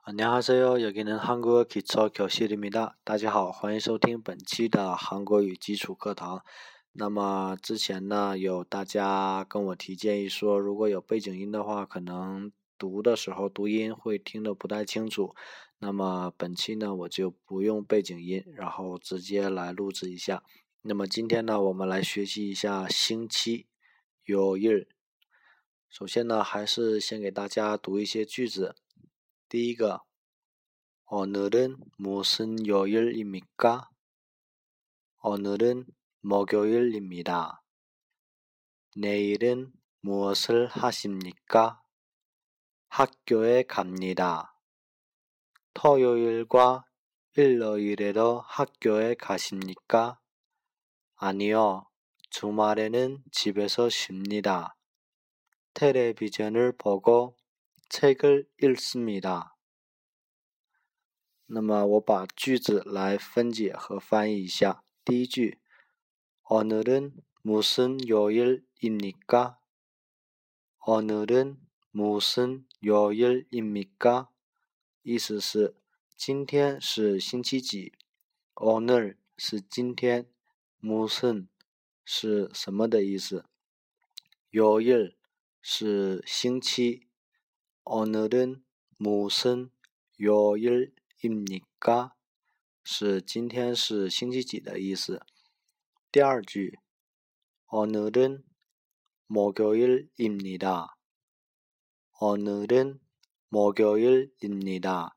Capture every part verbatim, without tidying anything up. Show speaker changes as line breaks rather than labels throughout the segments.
안녕하세요. 여기는 한국어 기초 교실입니다.大家好，欢迎收听本期的韩国语基础课堂。那么之前呢，有大家跟我提建议说，如果有背景音的话，可能读的时候读音会听得不太清楚。那么本期呢，我就不用背景音，然后直接来录制一下。那么今天呢，我们来学习一下星期요일。首先呢，还是先给大家读一些句子。第一个， 오늘은 무슨 요일입니까? 오늘은 목요일입니다. 내일은 무엇을 하십니까? 학교에 갑니다. 토요일과 일요일에도 학교에 가십니까? 아니요, 주말에는 집에서 쉽니다. 텔레비전을 보고 책을 읽습니다. 那么我把句子来分解和翻译一下。第一句 오늘은 무슨 요일입니까? 오늘은 무슨 요일입니까? 意思是今天是星期几。오늘是今天。무슨是什么的意思。요일是星期。오늘은 무슨 요일입니까? 是今天是星期几的意思。第二句 오늘은 목요일입니다. 오늘은 목요일입니다.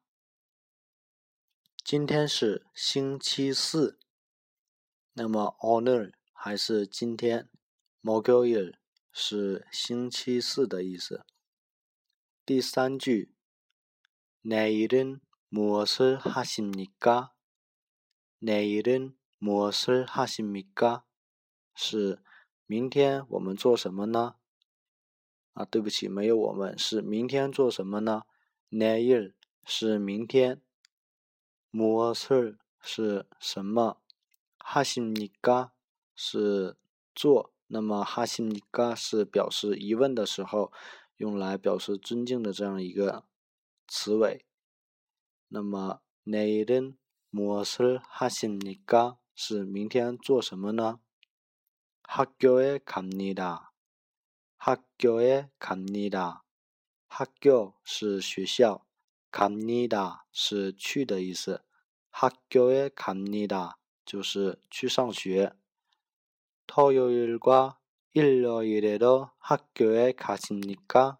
今天是星期四。那么 오늘 还是今天， 목요일 是星期四的意思。第三句 내일은 무엇을 하십니까? 내일은 무엇을 하십니까? 是明天我们做什么呢？啊，对不起，没有我们，是明天做什么呢？ 내일 是明天。무엇을 是什么？ 하십니까 是做。那么 하십니까 是表示疑问的时候用来表示尊敬的这样一个词尾。那么 내일은 무엇을 하십니까 是明天做什么呢？ 학교에 갑니다. 학교에 갑니다. 학교 是学校， 갑니다 是去的意思。학교에 갑니다 就是去上学。토요일과 일요일에도 학교에 가십니까?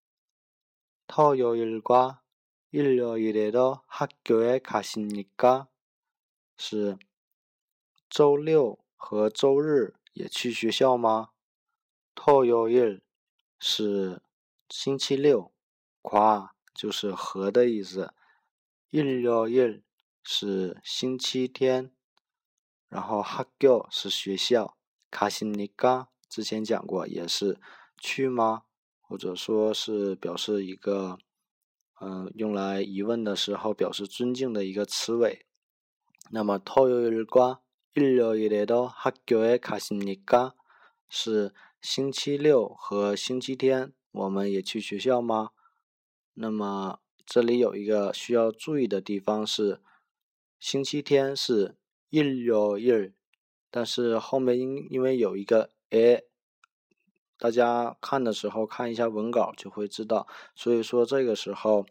토요일과 일요일에도 학교에 가십니까? 是周六和周日也去学校吗？ 토요일 是星期六， 과 就是和的意思。일요일 是星期天，然后 학교 是学校， 가십니까 之前讲过也是去吗，或者说是表示一个嗯、呃、用来疑问的时候表示尊敬的一个词尾。那么 토요일과 일요일에도 학교에 가십니까 是星期六和星期天我们也去学校吗？那么这里有一个需要注意的地方是星期天是일요일，但是后面因因为有一个 a， 大家看的时候看一下文稿就会知道，所以说这个时候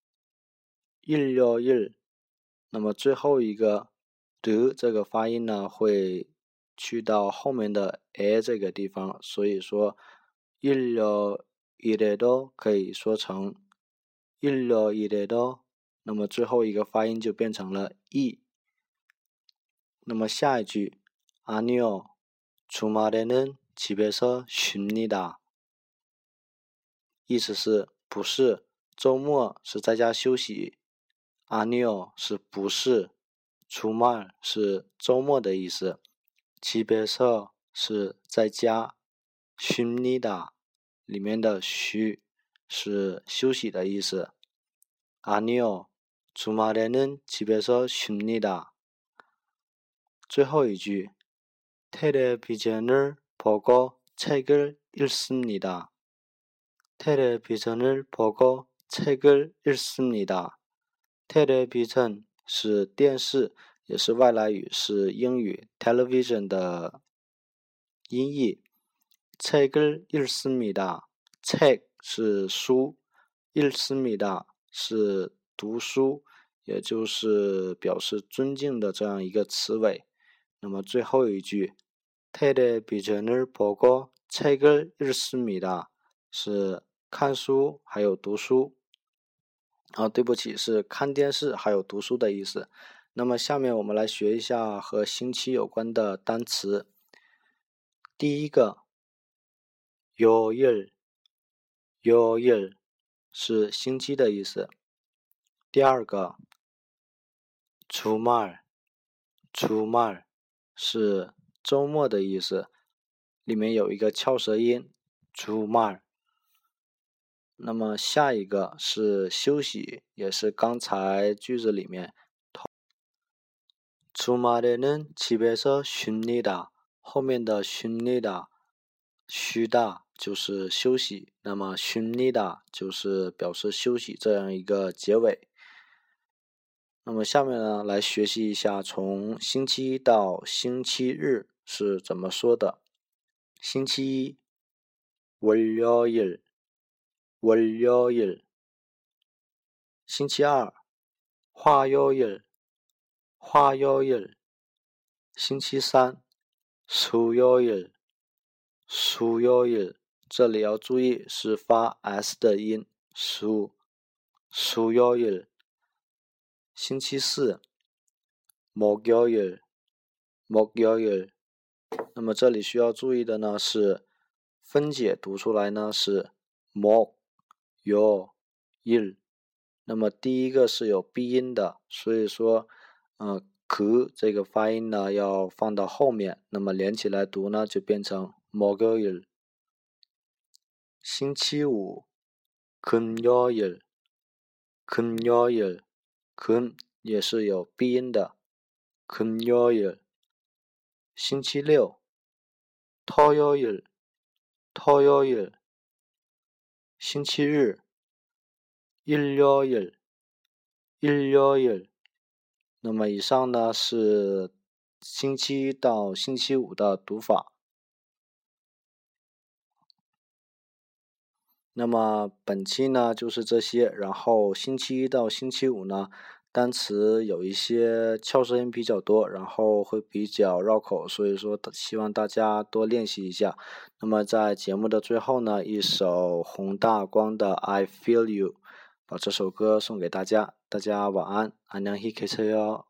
일요일，那么最后一个的这个发音呢会去到后面的 a 这个地方，所以说일요일에도可以说成일요일에도，那么最后一个发音就变成了 e。那么下一句 아니요, 주말에는 집에서 쉽니다。意思是不是，周末是在家休息。아니요是不是，주말是周末的意思。집에서是在家，쉽니다里面的쉬是休息的意思。아니요, 주말에는 집에서 쉽니다。最后一句 텔레비전을 보고 책을 읽습니다. 텔레비전을 보고 책을 읽습니다. television 是电视，也是外来语，是英语 television 的音译。책을 읽습니다。책是书，읽습니다是读书，也就是表示尊敬的这样一个词尾。那么最后一句 텔레비전을 보고 책을 읽습니다是看书还有读书。啊，对不起，是看电视还有读书的意思。那么下面我们来学一下和星期有关的单词。第一个요일，요일是星期的意思。第二个주말，주말是周末的意思，里面有一个翘舌音주말。那么下一个是休息，也是刚才句子里面주말에는 집에서 쉽니다。后面的쉽니다，쉬다就是休息，那么쉽니다就是表示休息这样一个结尾。那么下面呢，来学习一下从星期一到星期日是怎么说的。星期一월요일，월요일。星期二화요일，화요일。星期三수요일，수요일。这里要注意是发 s 的音，수， 수요일。星期四목요일，목요일。那么这里需要注意的呢是分解读出来呢是목요일。那么第一个是有闭音的，所以说呃그这个发音呢要放到后面，那么连起来读呢就变成목요일。星期五금요일，금요일。금也是有闭音的금요일。星期六토요일，토요일。星期日일요일，일요일。那么以上呢是星期一到星期五的读法。那么本期呢就是这些，然后星期一到星期五呢单词有一些翘舌音比较多，然后会比较绕口，所以说希望大家多练习一下。那么在节目的最後呢，一首洪大光的 I Feel You， 把这首歌送给大家，大家晚安，안녕히 계세요。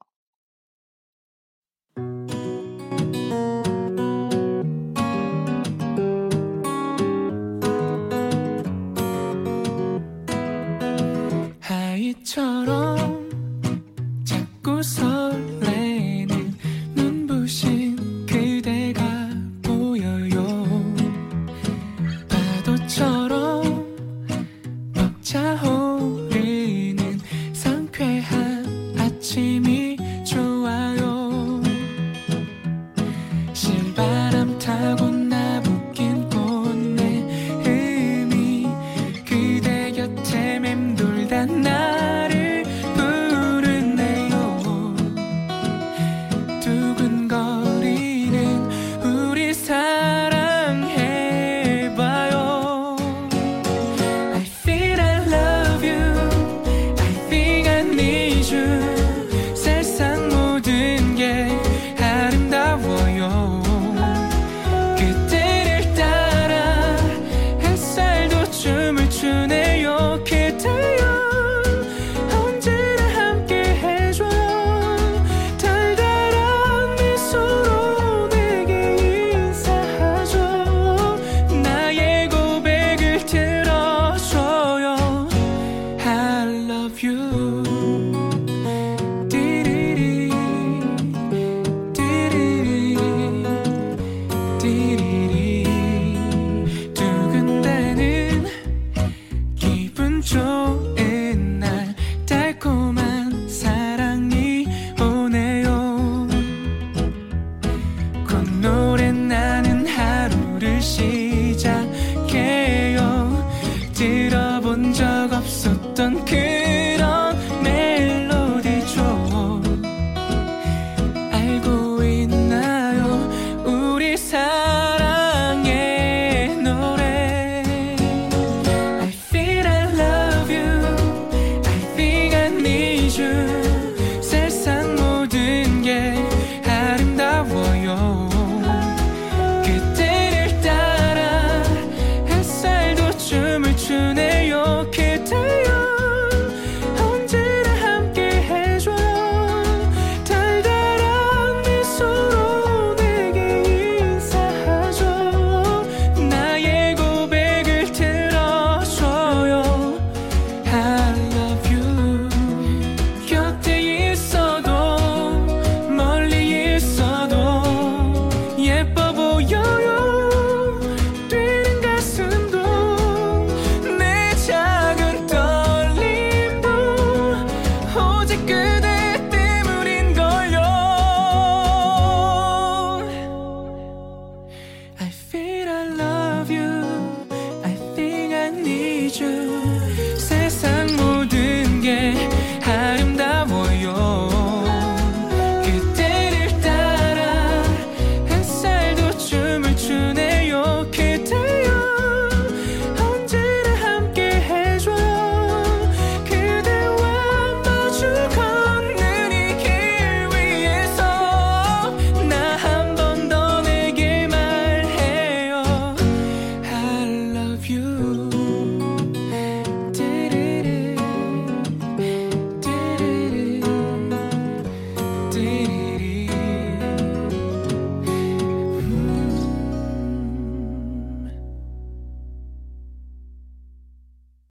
you